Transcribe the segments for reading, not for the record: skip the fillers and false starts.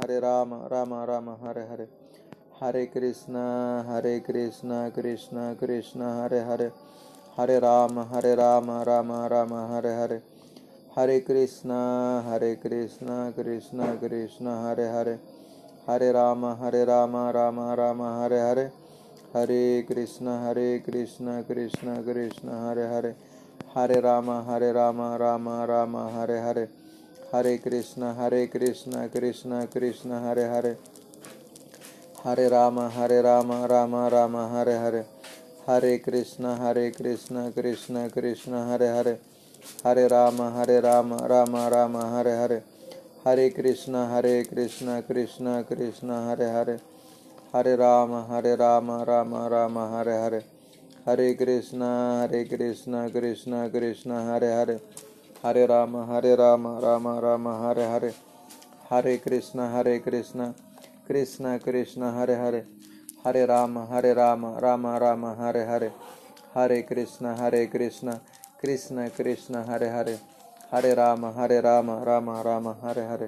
Hare Ram Ram Ram Hare Hare, Hare Krishna Krishna Krishna Hare Hare, Hare Ram Ram Ram Hare Hare, Hare Krishna Krishna Krishna Hare Hare, Hare Ram Ram Ram Hare Hare, Hare Krishna Krishna Krishna Hare Hare, Hare Ram Ram Ram Hare Hare, Hare Krishna Krishna Krishna Hare Hare, Hare Ram Ram Ram Hare Hare, Hare Krishna Krishna Krishna Hare Hare, Hare Ram Ram Ram Hare Hare, Hare Krishna Krishna Krishna Hare Hare, Hare Ram Ram Ram Hare Hare, Hare Krishna Krishna Krishna Hare Hare, Hare Ram Ram Ram Hare Hare, Hare Krishna Krishna Krishna Hare Hare, Hare Ram Ram Ram Hare Hare, Hare Krishna Krishna Krishna Hare Hare, Hare Ram Ram Ram Hare Hare,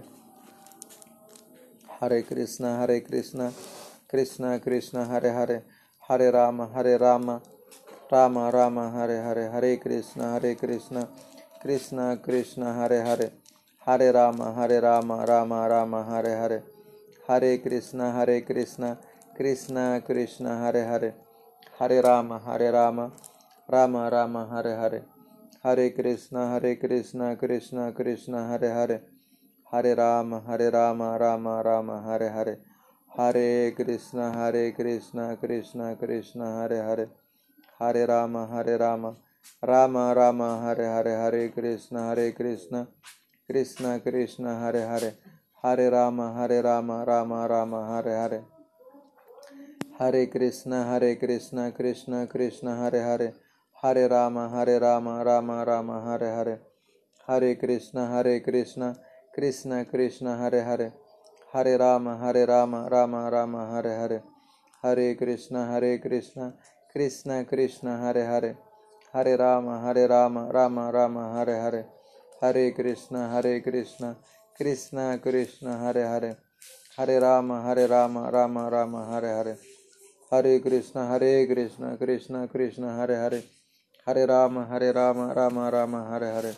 Hare Krishna Krishna Krishna Hare Hare, Hare Ram Ram Ram Hare Hare, Hare Krishna Krishna Krishna Hare Hare, Hare Ram Ram Ram Hare Hare, Hare Krishna Krishna Krishna Hare Hare, Hare Ram Ram Ram Hare Hare, Hare Krishna Krishna Krishna Hare Hare, Hare Ram Ram Ram Hare Hare, Hare Krishna Krishna Krishna Hare Hare, Hare Ram Ram Ram Hare Hare, Hare Krishna Krishna Krishna Hare Hare, Hare Ram Ram Ram Hare Hare, Hare Krishna Krishna Krishna Hare Hare, Hare Ram Ram Ram Hare Hare, Hare Krishna Krishna Krishna Hare Hare, Hare Ram Ram Ram Hare Hare, Hare Krishna Krishna Krishna Hare Hare, Hare Ram Ram Ram Hare Hare, Hare Krishna Krishna Krishna Hare Hare, Hare Ram Ram Ram Hare Hare, Hare Krishna Krishna Krishna Hare Hare, Hare Ram Ram Ram Hare Hare.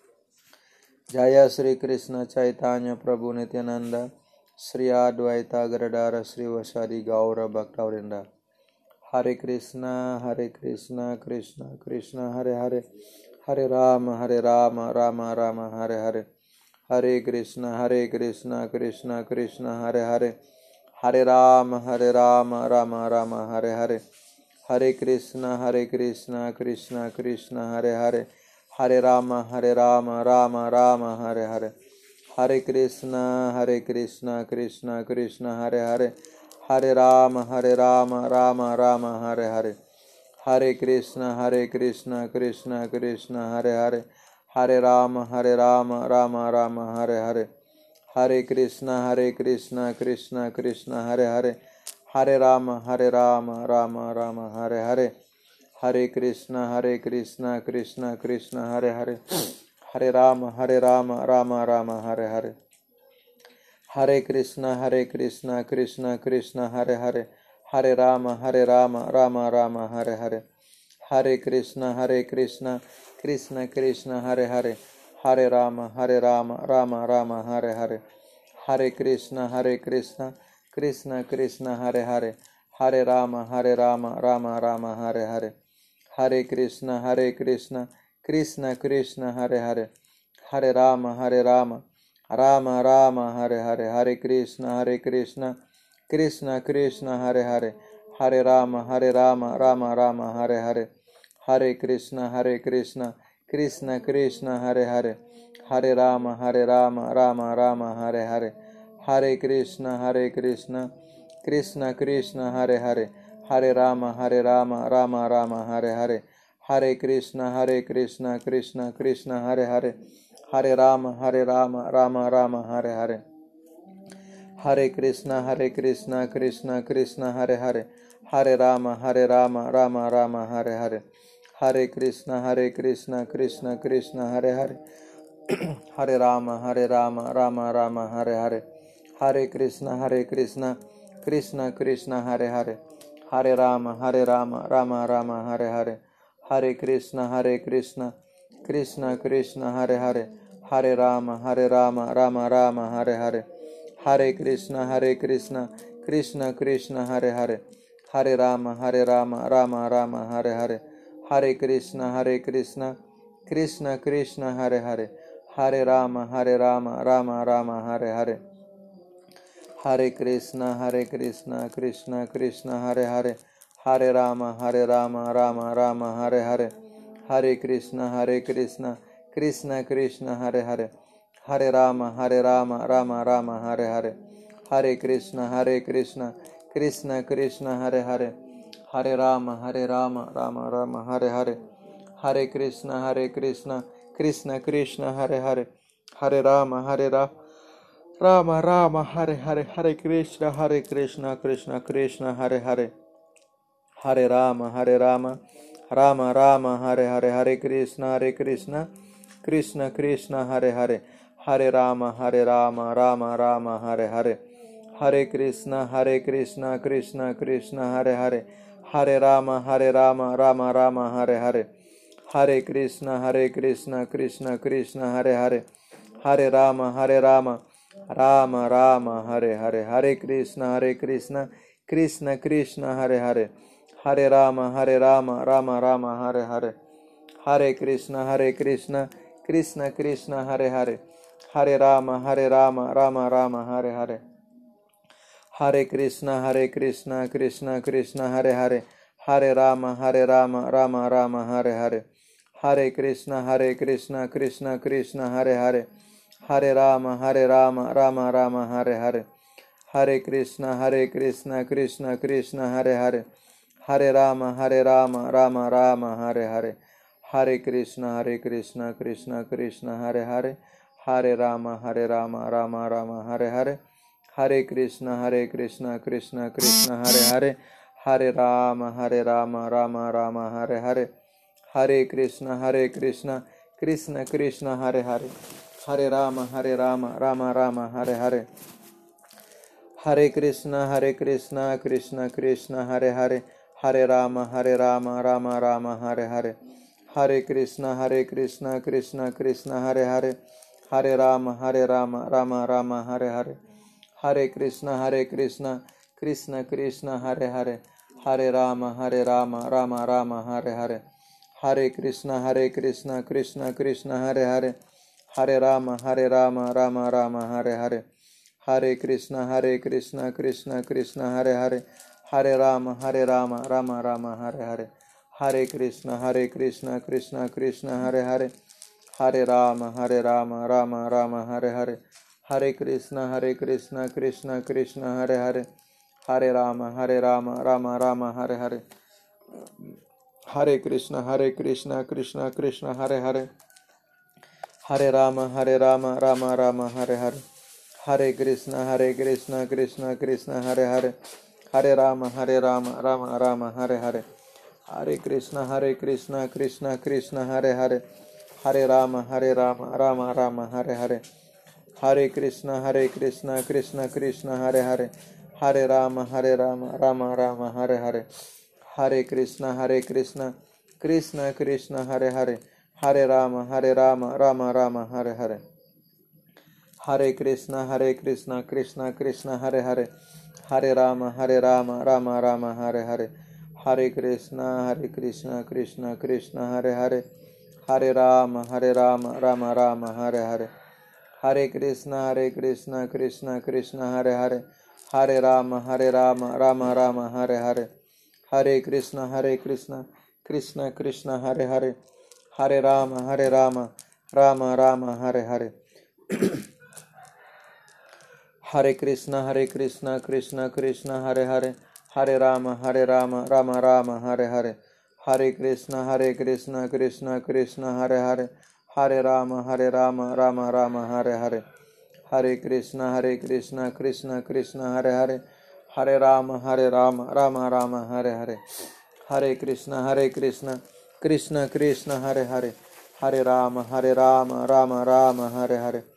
Jai Shri Krishna Chaitanya Prabhu Nityanand, Shri Advaita Gadadhar श्रीवासादि Gaur भक्तवृंद। Hare Krishna Krishna Krishna Hare Hare, Hare Ram Ram Ram Hare Hare, Hare Krishna Krishna Krishna Hare Hare, Hare Ram Ram Ram Hare Hare, Hare Krishna Krishna Krishna Hare Hare, Hare Ram Ram Ram Hare Hare, Hare Krishna Krishna Krishna Hare Hare, Hare Ram Ram Ram Hare Hare, Hare Krishna Krishna Krishna Hare Hare, Hare Ram Ram Ram Hare Hare, Hare Krishna Krishna Krishna Hare Hare, Hare Ram Ram Ram Hare Hare, Hare Krishna Krishna Krishna Hare Hare, Hare Ram Ram Ram Hare Hare, Hare Krishna Krishna Krishna Hare Hare, Hare Ram Ram Ram Hare Hare, Hare Krishna Krishna Krishna Hare Hare, Hare Ram Ram Ram Hare Hare, Hare Krishna Krishna Krishna Hare Hare, Hare Ram Ram Ram Hare Hare, Hare Krishna Krishna Krishna Hare Hare, Hare Ram Ram Ram Hare Hare, Hare Krishna Krishna Krishna Hare Hare, Hare Ram Ram Ram Hare Hare, Hare Krishna Krishna Krishna Hare Hare, Hare Ram Ram Ram Hare Hare, Hare Krishna Krishna Krishna Hare Hare, Hare Ram Ram Ram Hare Hare, Hare Krishna Krishna Krishna Hare Hare, Hare Ram Ram Ram Hare Hare, Hare Krishna Krishna Krishna Hare Hare, Hare Ram Ram Ram Hare Hare, Hare Krishna Krishna Krishna Hare Hare, Hare Ram Ram Ram Hare Hare, Hare Krishna, Krishna Krishna Hare Hare, Hare Rama, Rama Rama Hare Hare, Hare Krishna, Krishna Krishna Hare Hare, Hare Rama, Rama Rama Hare Hare, Hare Krishna, Krishna Krishna Hare Hare, Hare Rama, Rama Rama Hare Hare, Hare Krishna, Krishna Krishna Hare Hare, Hare Rama, Rama Rama Hare Hare, Hare Krishna, Krishna Krishna Hare Hare, Hare Rama, Rama Rama Hare Hare, Hare Krishna, Krishna Krishna Hare Hare, Hare Rama, Rama Rama Hare Hare, Hare Krishna, Krishna Krishna Hare Hare, Hare Rama, Rama Rama Hare Hare, Hare Krishna, Krishna Krishna Hare Hare, Hare Rama, Rama Rama Hare Hare, Hare Krishna, Krishna Krishna Hare Hare, Hare Rama, Rama Rama Hare Hare, Hare Krishna, Krishna Krishna Hare Hare, Hare Rama, Rama Rama Hare Hare, Hare Krishna, Krishna Krishna Hare Hare, Hare Rama, Rama Rama Hare Hare, Hare Krishna, Krishna Krishna Hare Hare, Hare Rama, Rama Rama Hare Hare, Hare Krishna, Krishna Krishna Hare Hare, Hare Rama, Rama Rama Hare Hare, Hare Krishna, Krishna Krishna Hare Hare, Hare Rama, Rama Rama Hare Hare, Hare Krishna, Krishna Krishna Hare Hare, Hare Rama, Rama Rama Hare Hare, Hare Krishna, Krishna Krishna Hare Hare, Hare Rama, Rama Rama Hare Hare, Hare Krishna, Krishna Krishna Hare Hare, Hare Rama, Rama Rama Hare Hare, Hare Krishna, Krishna Krishna Hare Hare, Hare Rama, Rama Rama Hare Hare, Hare Krishna, Krishna Krishna Hare Hare, Hare Rama, Rama Rama Hare Hare, Hare Krishna, Krishna Krishna Hare Hare, Hare Rama, Rama Rama Hare Hare, Hare Krishna, Krishna Krishna Hare Hare, Hare Rama, Rama Rama Hare Hare, Hare Krishna, Krishna Krishna Hare Hare, Hare Rama, Rama Rama Hare Hare, Hare Krishna, Krishna Krishna Hare Hare, Hare Rama, Rama Rama Hare Hare, Hare Krishna, Krishna Krishna Hare Hare, Hare Rama, Rama Rama Hare Hare, Hare Krishna, Krishna Krishna Hare Hare, Hare Rama, Rama Rama Hare Hare, Hare Krishna, Krishna Krishna Hare Hare, Hare Rama, Rama Rama Hare Hare, Hare Krishna, Krishna Krishna Hare Hare, Hare Rama, Rama Rama Hare Hare, Hare Krishna, Krishna Krishna Hare Hare, Hare Rama, Rama Rama Hare Hare, Hare Krishna, Krishna Krishna Hare Hare, Hare Rama, Rama Rama Hare Hare, Hare Krishna, Krishna Krishna Hare Hare, Hare Rama, Rama Rama Hare Hare, Hare Krishna, Krishna Krishna Hare Hare, Hare Rama, Rama Rama Hare Hare, Hare Krishna, Krishna Krishna Hare Hare, Hare Rama, Rama Rama Hare Hare, Hare Krishna, Krishna Krishna Hare Hare, Hare Rama, Rama Rama Hare Hare, Hare Krishna, Krishna Krishna Hare Hare, Hare Rama, Rama Rama Hare Hare, Hare Krishna, Krishna Krishna Hare Hare, Hare Rama, Rama Rama Hare Hare, Hare Krishna, Krishna Krishna Hare Hare, Hare Rama, Rama Rama Hare Hare, Hare Krishna, Krishna Krishna Hare Hare, Hare Rama, Rama Rama Hare Hare, Hare Krishna, Krishna Krishna Hare Hare, Hare Rama, Rama Rama Hare Hare, Hare Krishna, Krishna Krishna Hare Hare, Hare Rama, Rama Rama Hare Hare, Hare Krishna, Krishna Krishna Hare Hare, Hare Rama, Rama Rama Hare Hare,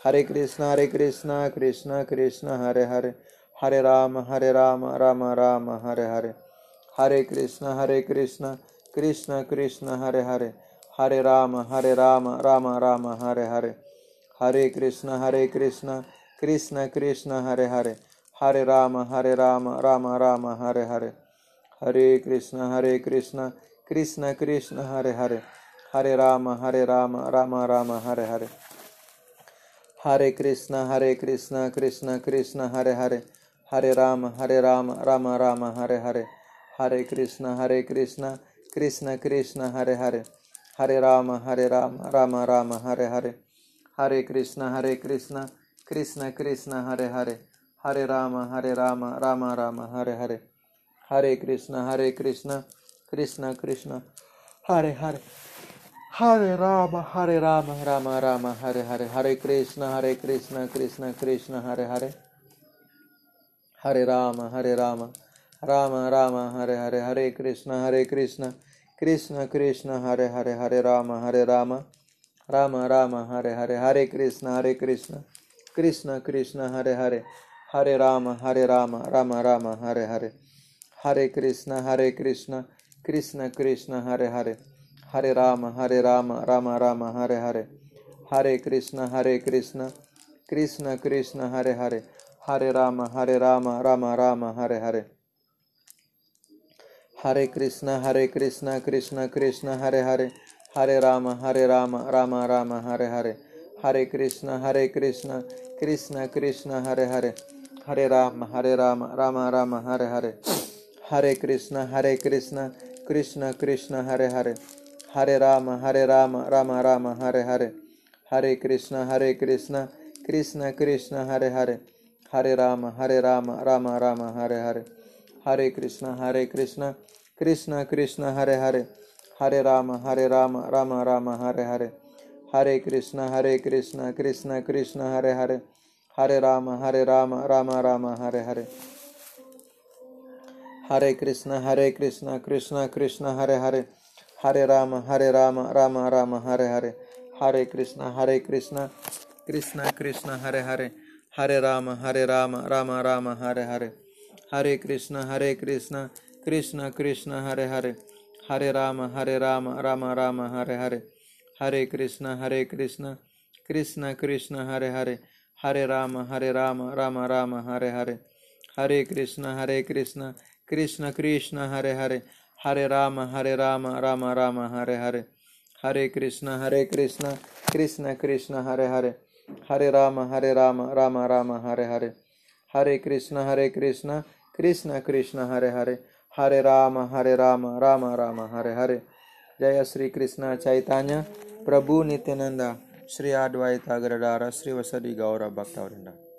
Hare Krishna, Krishna Krishna, Hare Hare, Hare Rama, Rama Rama, Hare Hare. Hare Krishna, Krishna Krishna, Hare Hare, Hare Rama, Rama Rama, Hare Hare. Hare Krishna, Krishna Krishna, Hare Hare, Hare Rama, Rama Rama, Hare Hare. Hare Krishna, Krishna Krishna, Hare Hare, Hare Rama, Rama Rama, Hare Hare. Hare Krishna, Krishna Krishna, Hare Hare, Hare Rama, Rama Rama, Hare Hare. Hare Krishna, Krishna Krishna, Hare Hare, Hare Rama, Rama Rama, Hare Hare. Hare Krishna, Krishna Krishna, Hare Hare, Hare Rama, Rama Rama, Hare Hare. Hare Krishna, Krishna Krishna, Hare Hare, Hare Rama, Rama Rama, Hare Hare. Hare Krishna, Krishna Krishna, Hare Hare, Hare Rama, Rama Rama, Hare Hare. Hare Krishna, Krishna Krishna, Hare Hare, Hare Rama, Rama Rama, Hare Hare. Hare Krishna, Krishna Krishna, Hare Hare, Hare Rama, Rama Rama, Hare Hare. Hare Krishna, Krishna Krishna, Hare Hare, Hare Rama, Rama Rama, Hare Hare. Hare Krishna, Krishna Krishna, Hare Hare, Hare Rama, Rama Rama, Hare Hare. Hare Krishna, Krishna Krishna, Hare Hare, Hare Rama, Rama Rama, Hare Hare. Hare Krishna, Krishna Krishna, Hare Hare, Hare Rama, Rama Rama, Hare Hare. Hare Krishna, Krishna Krishna, Hare Hare, Hare Rama, Rama Rama, Hare Hare. Hare Krishna, Krishna Krishna, Hare Hare, Hare Rama, Rama Rama, Hare Hare. Hare Krishna, Krishna Krishna, Hare Hare, Hare Rama, Rama Rama, Hare Hare. Hare Krishna, Krishna Krishna, Hare Hare, Hare Rama, Rama Rama, Hare Hare. Hare Krishna, Krishna Krishna, Hare Hare, Hare Rama, Rama Rama, Hare Hare. Hare Krishna, Krishna Krishna, Hare Hare, Hare Rama, Rama Rama, Hare Hare. Hare Krishna, Krishna Krishna, Hare Hare, Hare Rama, Rama Rama, Hare Hare. Hare Krishna, Krishna Krishna, Hare Hare, Hare Rama, Rama Rama, Hare Hare. Hare Krishna, Krishna Krishna, Hare Hare, Hare Rama, Rama Rama, Hare Hare. Hare Krishna, Krishna Krishna, Hare Hare, Hare Rama, Rama Rama, Hare Hare. Hare Krishna, Krishna Krishna, Hare Hare, Hare Rama, Rama Rama, Hare Hare. Jaya Sri Krishna Chaitanya Prabhu Nityananda, Sri Advaita Gadadara, Sri Vasadi Gaura Bhaktavrinda.